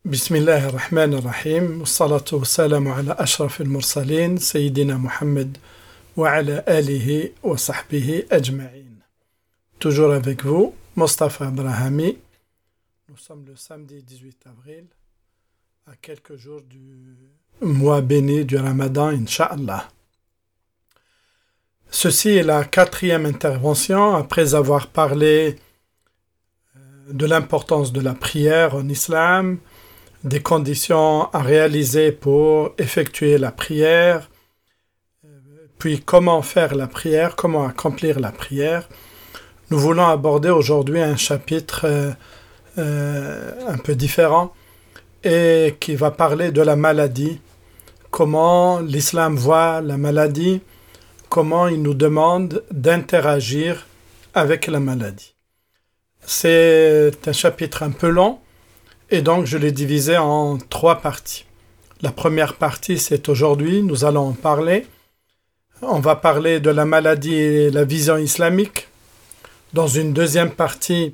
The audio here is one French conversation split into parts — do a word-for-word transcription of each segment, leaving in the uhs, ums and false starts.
بسم الله الرحمن الرحيم والصلاة والسلام على أشرف المرسلين سيدنا محمد وعلى آله وصحبه أجمعين. Toujours avec vous, Mostafa Abrahami. Nous sommes le samedi dix-huit avril, à quelques jours du mois béni du Ramadan, Inch'Allah. Ceci est la quatrième intervention après avoir parlé de l'importance de la prière en islam, des conditions à réaliser pour effectuer la prière, puis comment faire la prière, comment accomplir la prière. Nous voulons aborder aujourd'hui un chapitre euh, euh, un peu différent et qui va parler de la maladie, comment l'islam voit la maladie, comment il nous demande d'interagir avec la maladie. C'est un chapitre un peu long et donc je l'ai divisé en trois parties. La première partie, c'est aujourd'hui, nous allons en parler. On va parler de la maladie et la vision islamique. Dans une deuxième partie,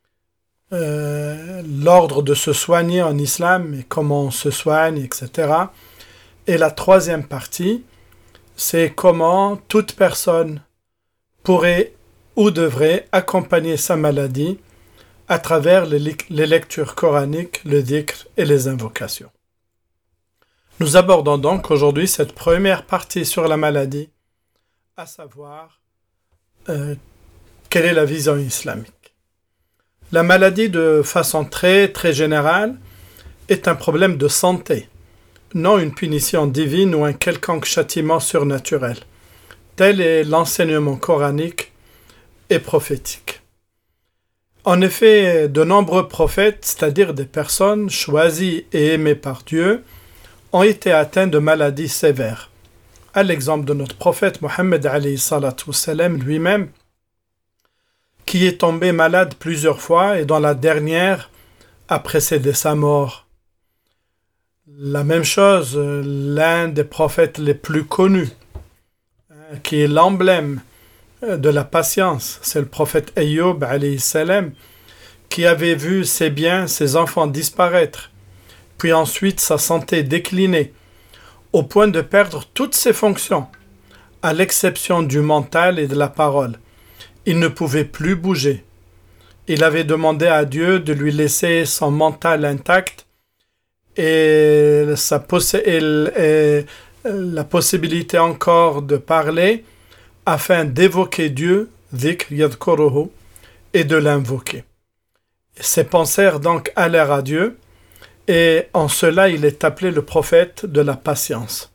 euh, l'ordre de se soigner en islam et comment on se soigne, et cetera. Et la troisième partie, c'est comment toute personne pourrait ou devrait accompagner sa maladie à travers les, les lectures coraniques, le dhikr et les invocations. Nous abordons donc aujourd'hui cette première partie sur la maladie, à savoir euh, quelle est la vision islamique. La maladie, de façon très très générale, est un problème de santé, non une punition divine ou un quelconque châtiment surnaturel. Tel est l'enseignement coranique et prophétique. En effet, de nombreux prophètes, c'est-à-dire des personnes choisies et aimées par Dieu, ont été atteints de maladies sévères. À l'exemple de notre prophète Mohammed alayhi salatu wassalam lui-même, qui est tombé malade plusieurs fois et dont la dernière a précédé sa mort. La même chose, l'un des prophètes les plus connus, qui est l'emblème de la patience, c'est le prophète Ayyub alayhi salam, qui avait vu ses biens, ses enfants disparaître, puis ensuite sa santé décliner, au point de perdre toutes ses fonctions, à l'exception du mental et de la parole. Il ne pouvait plus bouger. Il avait demandé à Dieu de lui laisser son mental intact et, sa poss- et, et la possibilité encore de parler, afin d'évoquer Dieu, dhikr yadhkuruhu, et de l'invoquer. Ses penseurs donc allèrent à Dieu, et en cela il est appelé le prophète de la patience.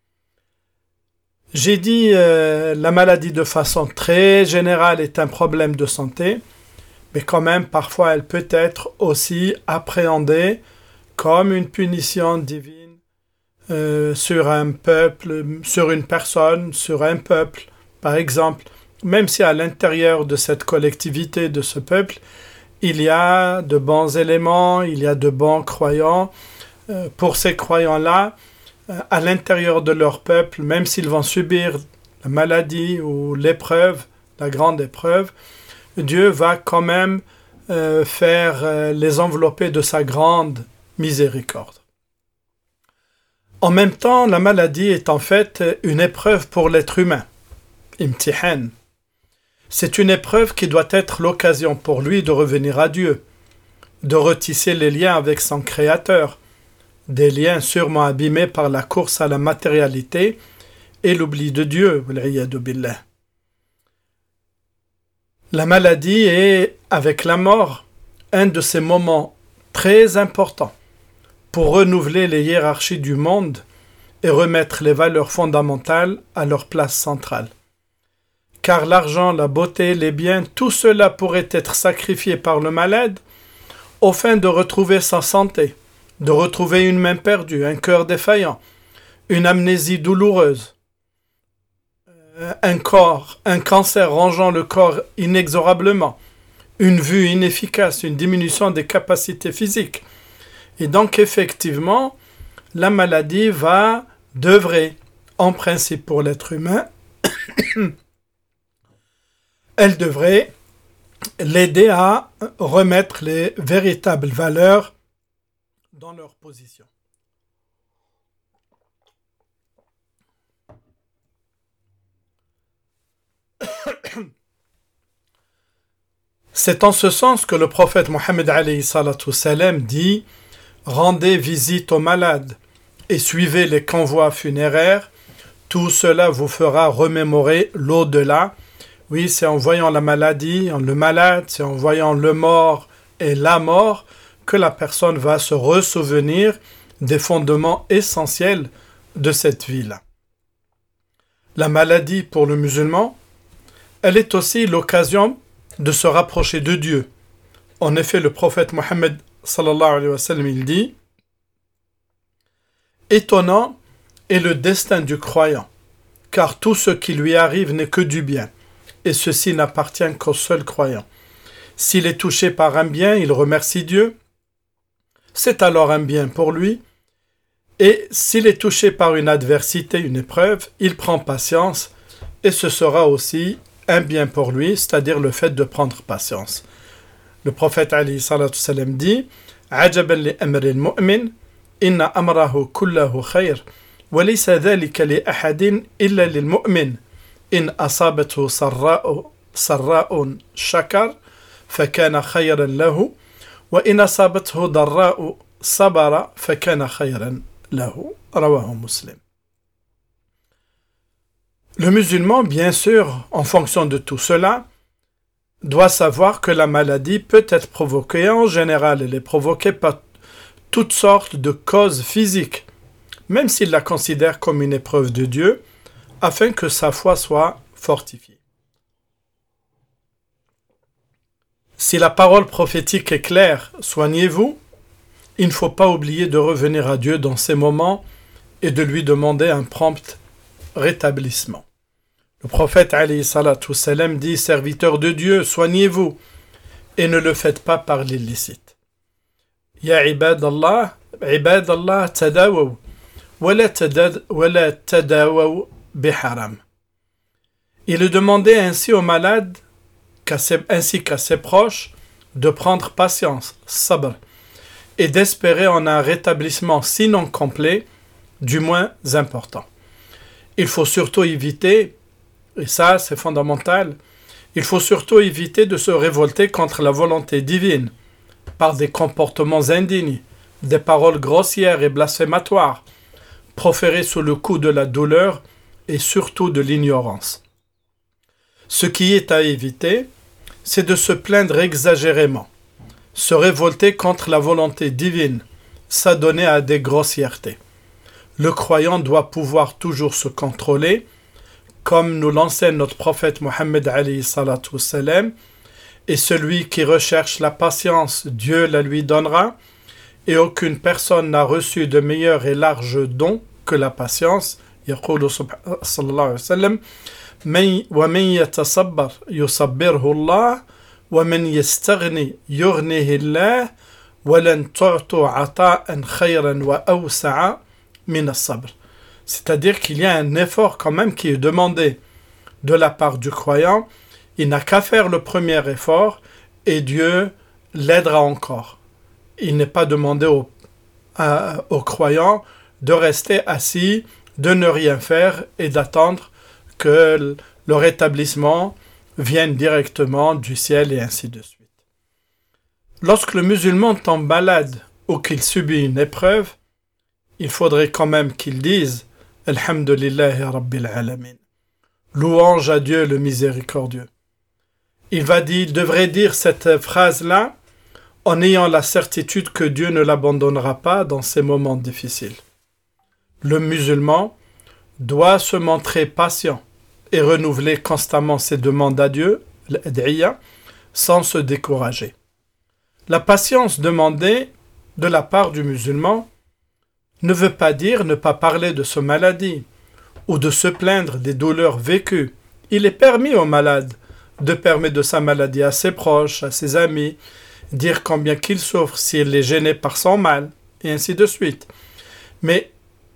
J'ai dit euh, la maladie de façon très générale est un problème de santé, mais quand même parfois elle peut être aussi appréhendée comme une punition divine euh, sur un peuple, sur une personne, sur un peuple. Par exemple, même si à l'intérieur de cette collectivité, de ce peuple, il y a de bons éléments, il y a de bons croyants, euh, pour ces croyants-là, euh, à l'intérieur de leur peuple, même s'ils vont subir la maladie ou l'épreuve, la grande épreuve, Dieu va quand même euh, faire euh, les envelopper de sa grande miséricorde. En même temps, la maladie est en fait une épreuve pour l'être humain. Imtihan. C'est une épreuve qui doit être l'occasion pour lui de revenir à Dieu, de retisser les liens avec son Créateur, des liens sûrement abîmés par la course à la matérialité et l'oubli de Dieu. La maladie est, avec la mort, un de ces moments très importants pour renouveler les hiérarchies du monde et remettre les valeurs fondamentales à leur place centrale. Car l'argent, la beauté, les biens, tout cela pourrait être sacrifié par le malade au fin de retrouver sa santé, de retrouver une main perdue, un cœur défaillant, une amnésie douloureuse, un corps, un cancer rongeant le corps inexorablement, une vue inefficace, une diminution des capacités physiques. Et donc effectivement, la maladie va, devrait, en principe pour l'être humain, elle devrait l'aider à remettre les véritables valeurs dans leur position. C'est en ce sens que le prophète Mohammed alayhi salatu salam dit « Rendez visite aux malades et suivez les convois funéraires, tout cela vous fera remémorer l'au-delà. » Oui, c'est en voyant la maladie, le malade, c'est en voyant le mort et la mort que la personne va se ressouvenir des fondements essentiels de cette vie-là. La maladie pour le musulman, elle est aussi l'occasion de se rapprocher de Dieu. En effet, le prophète Mohammed sallallahu alayhi wa sallam, il dit « Étonnant est le destin du croyant, car tout ce qui lui arrive n'est que du bien, et ceci n'appartient qu'au seul croyant. S'il est touché par un bien, il remercie Dieu, c'est alors un bien pour lui, et s'il est touché par une adversité, une épreuve, il prend patience, et ce sera aussi un bien pour lui, c'est-à-dire le fait de prendre patience. » Le prophète alayhi salatu salam dit « Ajaban li amri al-mu'min, inna amrahu kullahu khayr, wa laysa dhalika li ahadin illa lil mu'min, in asabathu sarra'u sarra'un shakar, fakana khayran lahu, wa in asabathu darra'u sabara, fakana khayran lahu. » Rawahu Muslim. Le musulman, bien sûr, en fonction de tout cela, doit savoir que la maladie peut être provoquée, en général, elle est provoquée par toutes sortes de causes physiques, même s'il la considère comme une épreuve de Dieu, afin que sa foi soit fortifiée. Si la parole prophétique est claire, soignez-vous, il ne faut pas oublier de revenir à Dieu dans ces moments et de lui demander un prompt rétablissement. Le prophète alayhi salatu salam dit « Serviteur de Dieu, soignez-vous et ne le faites pas par l'illicite. » Ya ibadallah, ibadallah tadawaw, wa la tadawaw biharam. Il est demandé ainsi aux malades, qu'à ses, ainsi qu'à ses proches, de prendre patience, sabr, et d'espérer en un rétablissement sinon complet, du moins important. Il faut surtout éviter, et ça c'est fondamental, il faut surtout éviter de se révolter contre la volonté divine par des comportements indignes, des paroles grossières et blasphématoires, proférées sous le coup de la douleur et surtout de l'ignorance. Ce qui est à éviter, c'est de se plaindre exagérément, se révolter contre la volonté divine, s'adonner à des grossièretés. Le croyant doit pouvoir toujours se contrôler, comme nous l'enseigne notre prophète Mohammed alayhi salatu salam, et celui qui recherche la patience, Dieu la lui donnera, et aucune personne n'a reçu de meilleur et large don que la patience. يقول صلى الله عليه وسلم ومن يتصبر يصبره الله ومن يستغني يغنيه الله ولن تعطوا عطاء خيرا وأوسع من الصبر. C'est-à-dire qu'il y a un effort quand même qui est demandé de la part du croyant. Il n'a qu'à faire le premier effort et Dieu l'aidera encore. Il n'est pas demandé au, à, aux croyants de rester assis, de ne rien faire et d'attendre que le rétablissement vienne directement du ciel et ainsi de suite. Lorsque le musulman tombe malade ou qu'il subit une épreuve, il faudrait quand même qu'il dise « Alhamdulillahi Rabbil Alamin » louange à Dieu le miséricordieux. Il va dire, il devrait dire cette phrase-là en ayant la certitude que Dieu ne l'abandonnera pas dans ces moments difficiles. Le musulman doit se montrer patient et renouveler constamment ses demandes à Dieu, l'ad'iyya, sans se décourager. La patience demandée de la part du musulman ne veut pas dire ne pas parler de sa maladie ou de se plaindre des douleurs vécues. Il est permis au malade de permettre de sa maladie à ses proches, à ses amis, dire combien qu'il souffre s'il est gêné par son mal, et ainsi de suite. Mais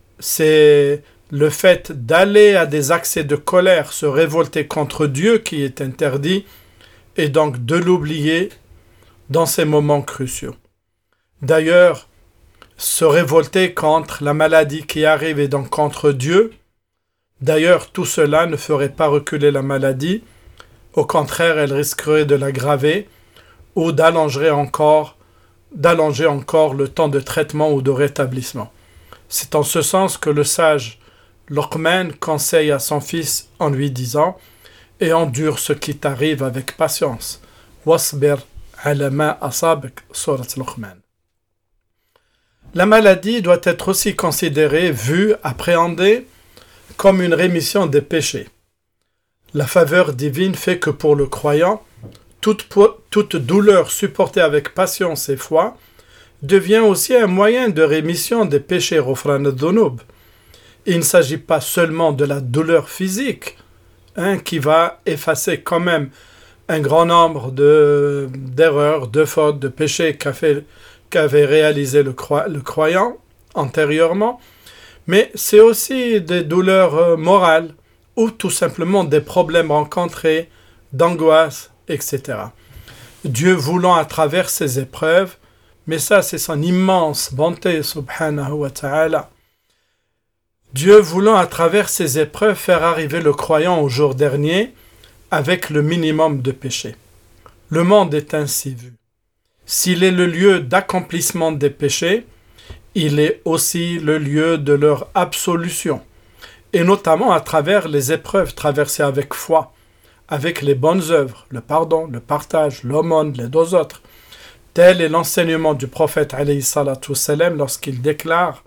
c'est le fait d'aller à des accès de colère, se révolter contre Dieu qui est interdit, et donc de l'oublier dans ces moments cruciaux. D'ailleurs, se révolter contre la maladie qui arrive et donc contre Dieu. D'ailleurs, tout cela ne ferait pas reculer la maladie. Au contraire, elle risquerait de l'aggraver ou d'allonger encore, d'allonger encore le temps de traitement ou de rétablissement. C'est en ce sens que le sage Luqman conseille à son fils en lui disant « Et endure ce qui t'arrive avec patience. » Wasbir ala ma asabak, surat Luqman. La maladie doit être aussi considérée, vue, appréhendée comme une rémission des péchés. La faveur divine fait que pour le croyant, toute, toute douleur supportée avec patience et foi devient aussi un moyen de rémission des péchés ghufran ad-dhunub. Il ne s'agit pas seulement de la douleur physique, hein, qui va effacer quand même un grand nombre de, d'erreurs, de fautes, de péchés qu'a fait, qu'avait réalisé le, cro- le croyant antérieurement, mais c'est aussi des douleurs euh, morales ou tout simplement des problèmes rencontrés, d'angoisse, et cetera. Dieu voulant à travers ces épreuves, mais ça c'est son immense bonté, subhanahu wa ta'ala, Dieu voulant à travers ces épreuves faire arriver le croyant au jour dernier avec le minimum de péché. Le monde est ainsi vu. S'il est le lieu d'accomplissement des péchés, il est aussi le lieu de leur absolution, et notamment à travers les épreuves traversées avec foi, avec les bonnes œuvres, le pardon, le partage, l'aumône, les deux autres. Tel est l'enseignement du prophète alayhi salatu wassalam lorsqu'il déclare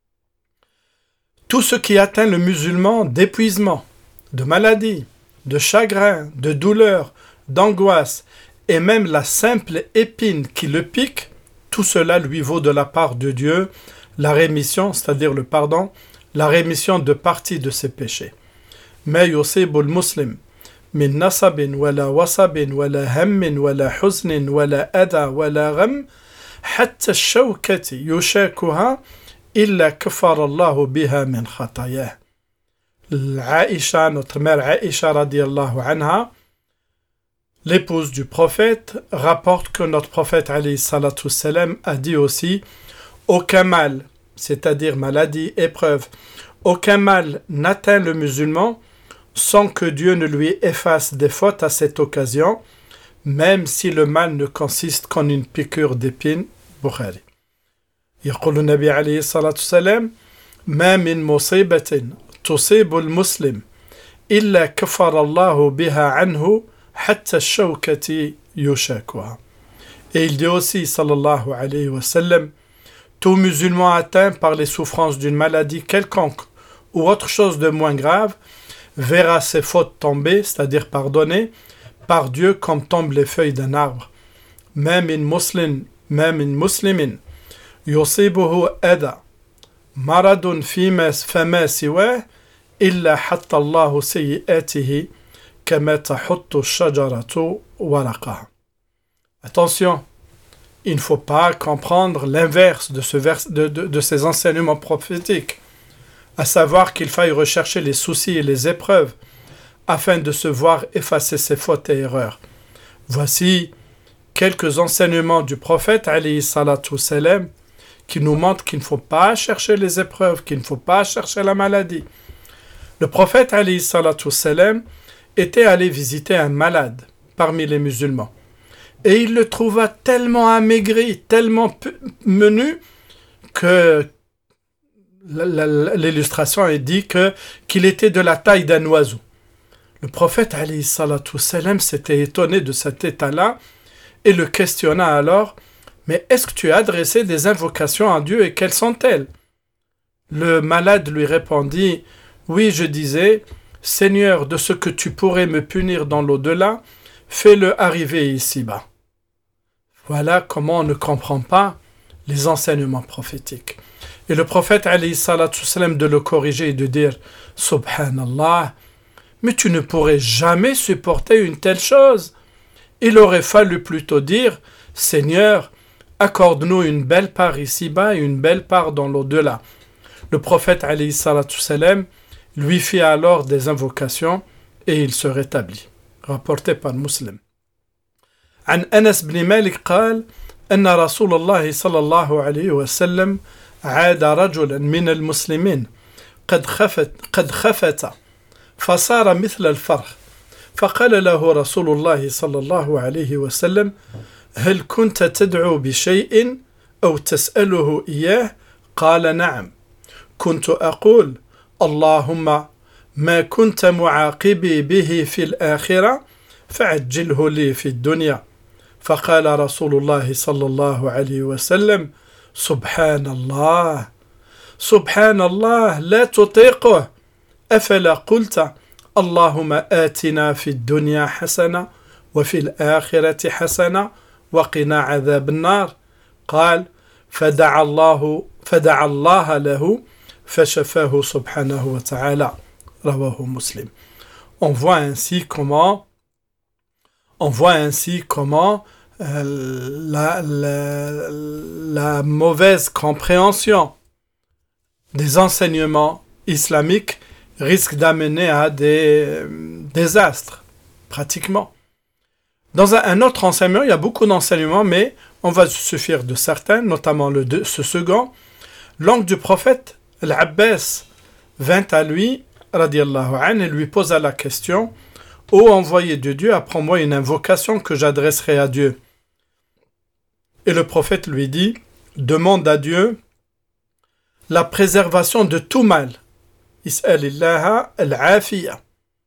« Tout ce qui atteint le musulman d'épuisement, de maladie, de chagrin, de douleur, d'angoisse, et même la simple épine qui le pique, tout cela lui vaut de la part de Dieu la rémission, c'est-à-dire le pardon, la rémission de partie de ses péchés. Mais yusibu al-muslim min nasabin wala wasabin wala hammin wala huznin wala adha wala gham hatta ash-shawkati yushakuha illa kafara Allahu biha min khatayah. Aïcha, notre mère Aïcha radiyallahu anha, l'épouse du prophète, rapporte que notre prophète alayhi salatu salam a dit aussi « Aucun mal, c'est-à-dire maladie, épreuve, aucun mal n'atteint le musulman sans que Dieu ne lui efface des fautes à cette occasion, même si le mal ne consiste qu'en une piqûre d'épine. » Bukhari. يقول النبي عليه الصلاة والسلام ما من مصيبة تصيب المسلم إلا كفر الله بها عنه حتى الشوكة يشاكها. Et il dit aussi, sallallahu alayhi wa sallam, tout musulman atteint par les souffrances d'une maladie quelconque ou autre chose de moins grave verra ses fautes tomber, c'est-à-dire pardonnées, par Dieu comme tombent les feuilles d'un arbre. Même in muslim, même in muslimin, yusibuhu ada, maradun fima fama siwah, illa hatta Allahu sayyi'atihi. Attention, il ne faut pas comprendre l'inverse de, ce vers, de, de, de ces enseignements prophétiques, à savoir qu'il faille rechercher les soucis et les épreuves afin de se voir effacer ses fautes et erreurs. Voici quelques enseignements du prophète alayhi salatu salam qui nous montrent qu'il ne faut pas chercher les épreuves, qu'il ne faut pas chercher la maladie. Le prophète alayhi salatu salam était allé visiter un malade parmi les musulmans. Et il le trouva tellement amaigri, tellement menu, que l'illustration est dit que, qu'il était de la taille d'un oiseau. Le prophète alayhi salatu salam s'était étonné de cet état-là et le questionna alors « Mais est-ce que tu as adressé des invocations à Dieu et quelles sont-elles » Le malade lui répondit « Oui, je disais, Seigneur, de ce que tu pourrais me punir dans l'au-delà, fais-le arriver ici-bas. » Voilà comment on ne comprend pas les enseignements prophétiques. Et le prophète alayhi salatu salam de le corriger et de dire « Subhanallah, mais tu ne pourrais jamais supporter une telle chose. » Il aurait fallu plutôt dire « Seigneur, accorde-nous une belle part ici-bas et une belle part dans l'au-delà. » Le prophète alayhi salatu salam lui fit alors des invocations et il se rétablit. Rapporté par Muslim. عن أنس بن مالك قال أن رسول الله صلى الله عليه وسلم عاد رجلا من المسلمين قد خفت قد خفت فصار مثل الفرخ فقال له رسول الله صلى الله عليه وسلم هل كنت تدعو بشيء أو تسأله إياه؟ قال نعم كنت أقول اللهم ما كنت معاقبي به في الآخرة فعجله لي في الدنيا فقال رسول الله صلى الله عليه وسلم سبحان الله سبحان الله لا تطيقه أفلا قلت اللهم آتنا في الدنيا حسنة وفي الآخرة حسنة وقنا عذاب النار قال فدعا الله فدعا الله له فشفاه سبحانه وتعالى رواه مسلم. On voit ainsi comment on voit ainsi comment euh, la, la, la mauvaise compréhension des enseignements islamiques risque d'amener à des euh, désastres, pratiquement. Dans un, un autre enseignement, il y a beaucoup d'enseignements, mais on va se suffire de certains, notamment le de, ce second. L'oncle du prophète, l'Abbas, vint à lui, radiallahu anhu, et lui posa la question « Ô envoyé de Dieu, apprends-moi une invocation que j'adresserai à Dieu. » Et le prophète lui dit « Demande à Dieu la préservation de tout mal. Is'alillaha al-afiya. »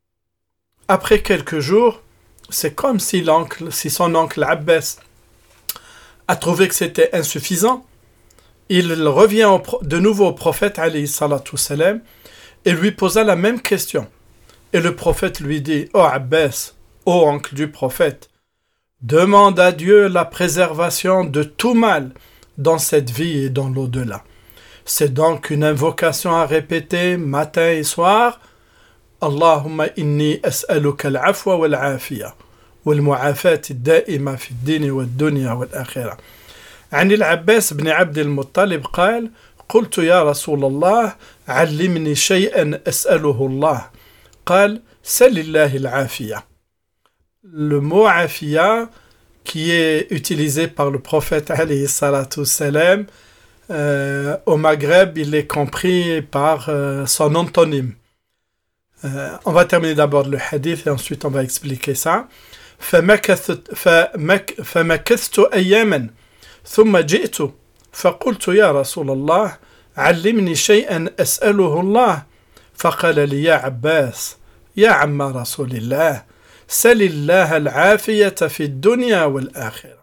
Après quelques jours, c'est comme si, l'oncle, si son oncle Abbas a trouvé que c'était insuffisant. Il revient au, de nouveau au prophète alayhi salatu salam et lui posa la même question. Et le prophète lui dit « Ô Abbas, ô oncle du prophète, demande à Dieu la préservation de tout mal dans cette vie et dans l'au-delà. » C'est donc une invocation à répéter matin et soir. Allahumma inni as'aluka al-afwa wal-afiya wal-mu'afat ad-da'ima fi ad-din wad-dunya wal-akhirah. عن العباس بن عبد المطلب قال قلت يا رسول الله علمني شيئا أسأله الله قال سل الله العافية. Le mot afiya qui est utilisé par le prophète alayhi salatu salam euh, au Maghreb, il est compris par euh, son antonyme. Euh, on va terminer d'abord le hadith et ensuite on va expliquer ça. فمكثت فمك فمكثت أياما ثم جئت فقلت يا رسول الله علمني شيئا أسأله الله فقال لي يا عباس يا عم رسول الله سل الله العافية في الدنيا والآخرة.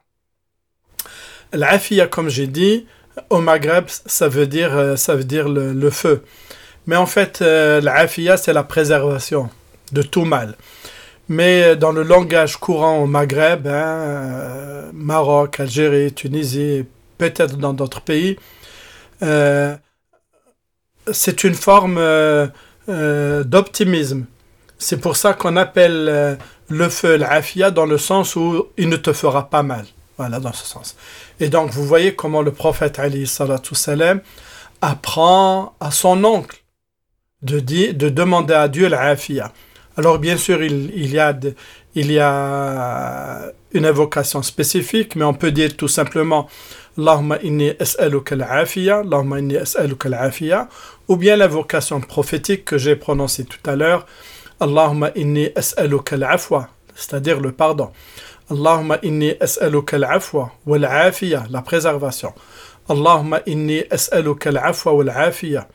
L'afia, comme j'ai dit, au Maghreb, ça veut dire, ça veut dire le, le feu. Mais en fait, euh, l'afia, c'est la préservation de tout mal. Mais dans le langage courant au Maghreb, hein, euh, Maroc, Algérie, Tunisie, peut-être dans d'autres pays, euh, c'est une forme euh, euh, d'optimisme. C'est pour ça qu'on appelle euh, le feu l'afia dans le sens où il ne te fera pas mal. Voilà, dans ce sens. Et donc, vous voyez comment le prophète alayhi salatu salam apprend à son oncle de, dire, de demander à Dieu l'afia. Alors, bien sûr, il, il, y a de, il y a une invocation spécifique, mais on peut dire tout simplement Allahumma inni as'aluka al-afiya, Allahumma inni as'aluka al-afiya, ou bien l'invocation prophétique que j'ai prononcée tout à l'heure, Allahumma inni as'aluka al-afwa, c'est-à-dire le pardon. Allahumma inni as'aluka al-afwa wal-afiya, la préservation. Allahumma inni as'aluka al-afwa wal-afiya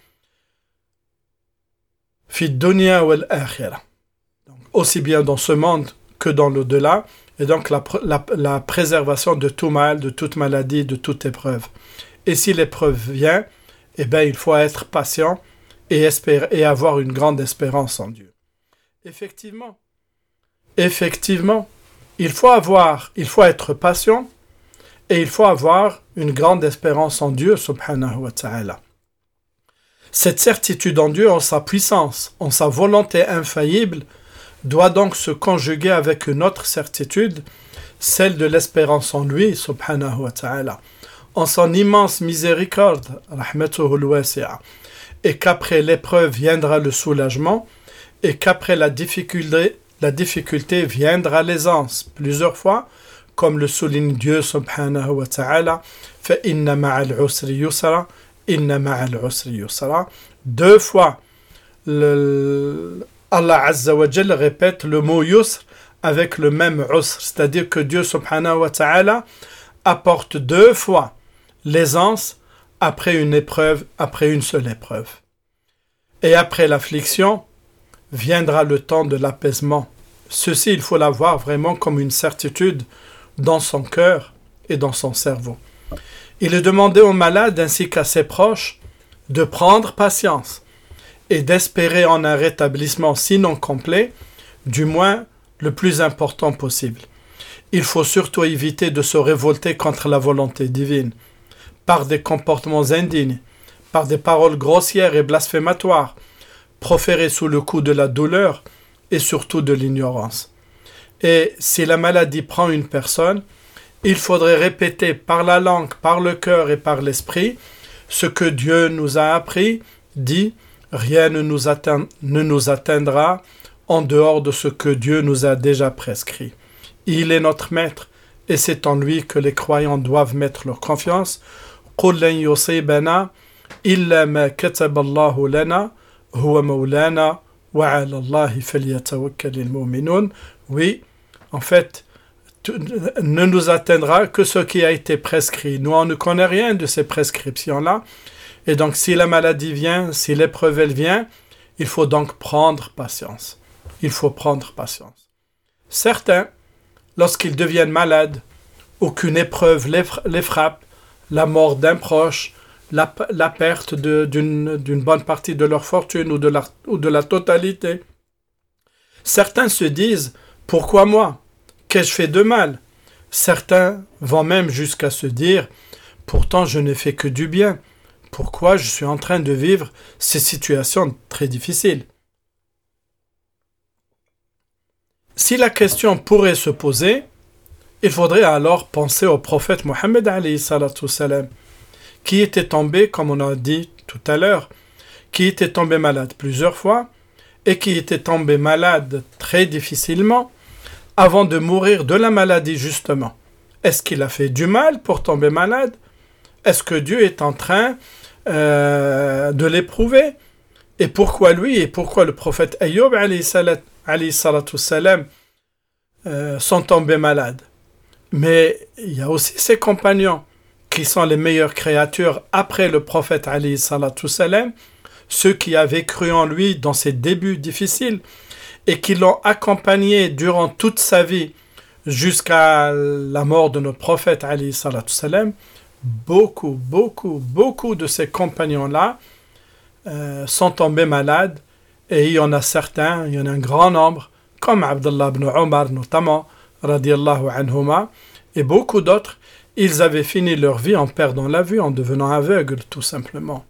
fi dunya wal-akhirah. Aussi bien dans ce monde que dans l'au-delà, et donc la, la, la préservation de tout mal, de toute maladie, de toute épreuve. Et si l'épreuve vient, eh bien, il faut être patient et, espérer, et avoir une grande espérance en Dieu. Effectivement, effectivement, il faut avoir, il faut être patient et il faut avoir une grande espérance en Dieu, subhanahu wa ta'ala. Cette certitude en Dieu, en sa puissance, en sa volonté infaillible, doit donc se conjuguer avec une autre certitude, celle de l'espérance en lui, subhanahu wa ta'ala, en son immense miséricorde, rahmatuhu al-wasi'a, et qu'après l'épreuve viendra le soulagement, et qu'après la difficulté, la difficulté viendra l'aisance, plusieurs fois, comme le souligne Dieu subhanahu wa ta'ala, fa inna ma'al usri yusra, inna ma'al usri yusra. Deux fois, le, Allah Azza wa Jalla répète le mot yusr avec le même usr, c'est-à-dire que Dieu subhanahu wa ta'ala apporte deux fois l'aisance après une épreuve, après une seule épreuve. Et après l'affliction, viendra le temps de l'apaisement. Ceci, il faut l'avoir vraiment comme une certitude dans son cœur et dans son cerveau. Il est demandé aux malades ainsi qu'à ses proches de prendre patience et d'espérer en un rétablissement sinon complet, du moins le plus important possible. Il faut surtout éviter de se révolter contre la volonté divine, par des comportements indignes, par des paroles grossières et blasphématoires, proférées sous le coup de la douleur et surtout de l'ignorance. Et si la maladie prend une personne, il faudrait répéter par la langue, par le cœur et par l'esprit ce que Dieu nous a appris, dit « Rien ne nous, atteint, ne nous atteindra en dehors de ce que Dieu nous a déjà prescrit. Il est notre maître et c'est en lui que les croyants doivent mettre leur confiance. قُلْ لَنْ يُصِيبَنَا إِلَّا مَا كَتَبَ اللَّهُ لَنَا هُوَ مَوْلَانَا وَعَلَى اللَّهِ فَلْيَتَوَكَّلِ الْمُؤْمِنُونَ. Oui, en fait, ne nous atteindra que ce qui a été prescrit. Nous, on ne connaît rien de ces prescriptions-là. Et donc, si la maladie vient, si l'épreuve elle vient, il faut donc prendre patience. Il faut prendre patience. Certains, lorsqu'ils deviennent malades, ou qu'une épreuve les, les frappe, la mort d'un proche, la, la perte de, d'une, d'une bonne partie de leur fortune ou de la, ou de la totalité, certains se disent « Pourquoi moi ? Qu'ai-je fait de mal ?» Certains vont même jusqu'à se dire « Pourtant je n'ai fait que du bien. Pourquoi je suis en train de vivre ces situations très difficiles ?» Si la question pourrait se poser, il faudrait alors penser au prophète Mohammed alayhi salatu salam, qui était tombé, comme on a dit tout à l'heure, qui était tombé malade plusieurs fois et qui était tombé malade très difficilement avant de mourir de la maladie justement. Est-ce qu'il a fait du mal pour tomber malade? Est-ce que Dieu est en train euh, de l'éprouver? Et pourquoi lui et pourquoi le prophète Ayyub alayhi salatu salam euh, sont tombés malades? Mais il y a aussi ses compagnons qui sont les meilleures créatures après le prophète alayhi salatu salam, ceux qui avaient cru en lui dans ses débuts difficiles et qui l'ont accompagné durant toute sa vie jusqu'à la mort de notre prophète alayhi salatu salam. Beaucoup, beaucoup, beaucoup de ces compagnons-là euh, sont tombés malades et il y en a certains, il y en a un grand nombre, comme Abdullah ibn Omar notamment, radiyallahu anhuma, et beaucoup d'autres, ils avaient fini leur vie en perdant la vue, en devenant aveugles tout simplement.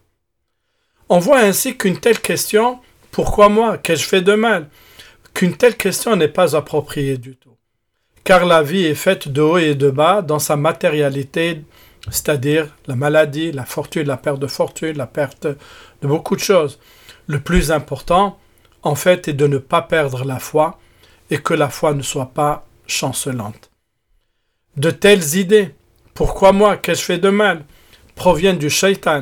On voit ainsi qu'une telle question, pourquoi moi, qu'ai-je fait de mal, qu'une telle question n'est pas appropriée du tout. Car la vie est faite de haut et de bas dans sa matérialité, c'est-à-dire la maladie, la fortune, la perte de fortune, la perte de beaucoup de choses. Le plus important, en fait, est de ne pas perdre la foi et que la foi ne soit pas chancelante. De telles idées, pourquoi moi, qu'ai-je fait de mal, proviennent du shaitan,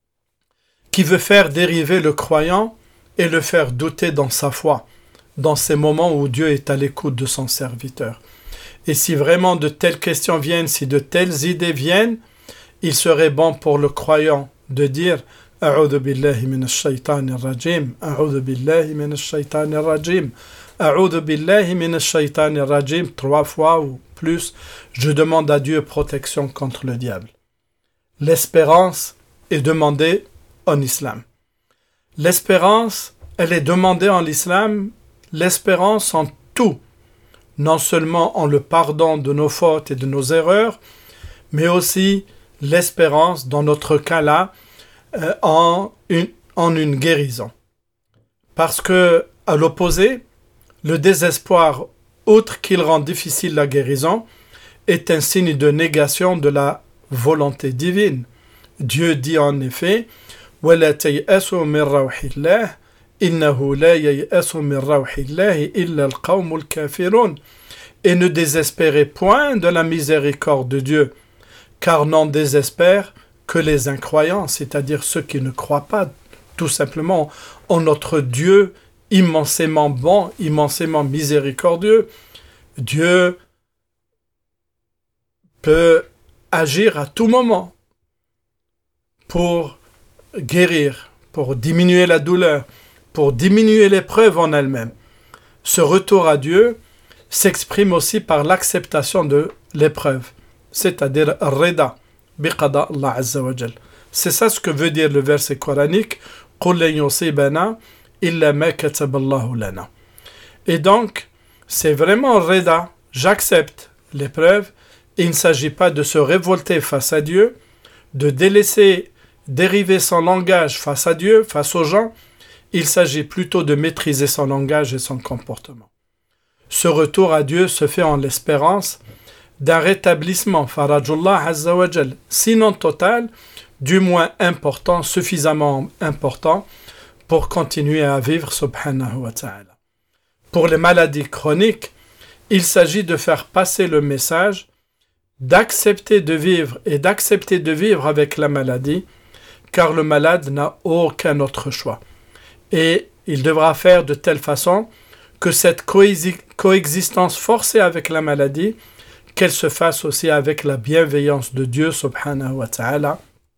qui veut faire dériver le croyant et le faire douter dans sa foi, dans ces moments où Dieu est à l'écoute de son serviteur. Et si vraiment de telles questions viennent, si de telles idées viennent, il serait bon pour le croyant de dire « A'udhu billahi minash shaitanir rajim, a'udhu billahi minash shaitanir rajim, a'udhu billahi minash shaitanir rajim » trois fois ou plus, je demande à Dieu protection contre le diable. L'espérance est demandée en islam. L'espérance, elle est demandée en islam, l'espérance en tout, non seulement en le pardon de nos fautes et de nos erreurs, mais aussi l'espérance, dans notre cas-là, euh, en, une, en une guérison. Parce que, à l'opposé, le désespoir, outre qu'il rend difficile la guérison, est un signe de négation de la volonté divine. Dieu dit en effet « وَلَا تَيْأَسُوا مِنْ رَوْحِ اللَّهِ إِنَّهُ لَا يَيْأَسُ مِنْ رَوْحِ اللَّهِ إِلَّا الْقَوْمُ الْكَافِرُونَ » et ne désespérez point de la miséricorde de Dieu, car n'en désespèrent que les incroyants, c'est-à-dire ceux qui ne croient pas tout simplement en notre Dieu immensément bon, immensément miséricordieux. Dieu peut agir à tout moment pour guérir, pour diminuer la douleur, pour diminuer l'épreuve en elle-même. Ce retour à Dieu s'exprime aussi par l'acceptation de l'épreuve, c'est-à-dire rida, biqada Allah Azza wa Jal. C'est ça ce que veut dire le verset coranique, قُلْ لَنْ يُصِيبَنَا إِلَّا مَا كَتَبَ اللَّهُ لَنَا. Et donc, c'est vraiment rida, j'accepte l'épreuve, et il ne s'agit pas de se révolter face à Dieu, de délaisser, dériver son langage face à Dieu, face aux gens. Il s'agit plutôt de maîtriser son langage et son comportement. Ce retour à Dieu se fait en l'espérance d'un rétablissement, farajullah azza wa jal, sinon total, du moins important, suffisamment important pour continuer à vivre subhanahu wa ta'ala. Pour les maladies chroniques, il s'agit de faire passer le message d'accepter de vivre et d'accepter de vivre avec la maladie, car le malade n'a aucun autre choix. Et il devra faire de telle façon que cette coexistence forcée avec la maladie, qu'elle se fasse aussi avec la bienveillance de Dieu subhanahu wa ta'ala,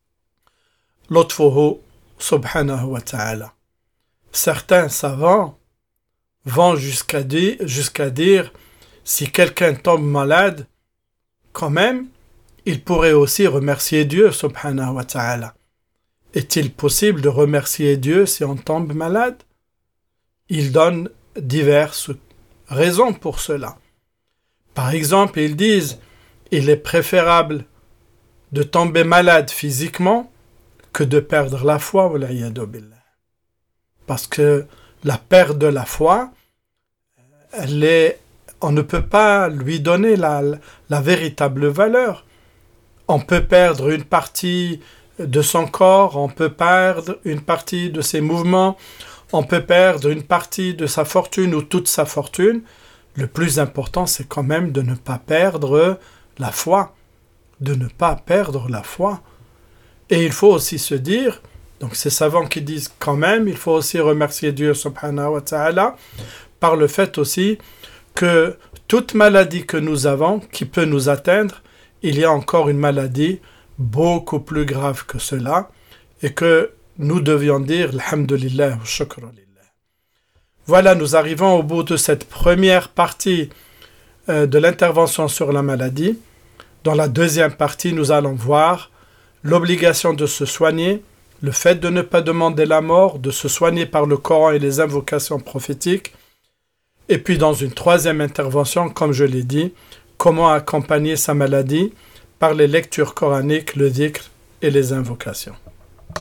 lutfuhu subhanahu wa ta'ala. Certains savants vont jusqu'à dire, jusqu'à dire si quelqu'un tombe malade, quand même, il pourrait aussi remercier Dieu subhanahu wa ta'ala. Est-il possible de remercier Dieu si on tombe malade? Il donne diverses raisons pour cela. Par exemple, ils disent il est préférable de tomber malade physiquement que de perdre la foi, wal'iyadu billah. Parce que la perte de la foi, elle est, on ne peut pas lui donner la, la véritable valeur. On peut perdre une partie de son corps, on peut perdre une partie de ses mouvements, on peut perdre une partie de sa fortune ou toute sa fortune. Le plus important, c'est quand même de ne pas perdre la foi, de ne pas perdre la foi. Et il faut aussi se dire, donc ces savants qui disent quand même, il faut aussi remercier Dieu subhanahu wa ta'ala, par le fait aussi que toute maladie que nous avons, qui peut nous atteindre, il y a encore une maladie beaucoup plus grave que cela, et que nous devions dire alhamdulillah wa shukra lillah. Voilà, nous arrivons au bout de cette première partie euh, de l'intervention sur la maladie. Dans la deuxième partie, nous allons voir l'obligation de se soigner, le fait de ne pas demander la mort, de se soigner par le Coran et les invocations prophétiques. Et puis dans une troisième intervention, comme je l'ai dit, comment accompagner sa maladie par les lectures coraniques, le dhikr et les invocations.